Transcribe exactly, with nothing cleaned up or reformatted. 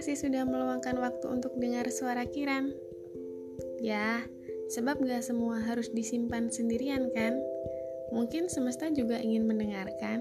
kasih sudah meluangkan waktu untuk dengar suara Kiran. Ya, sebab gak semua harus disimpan sendirian kan? Mungkin semesta juga ingin mendengarkan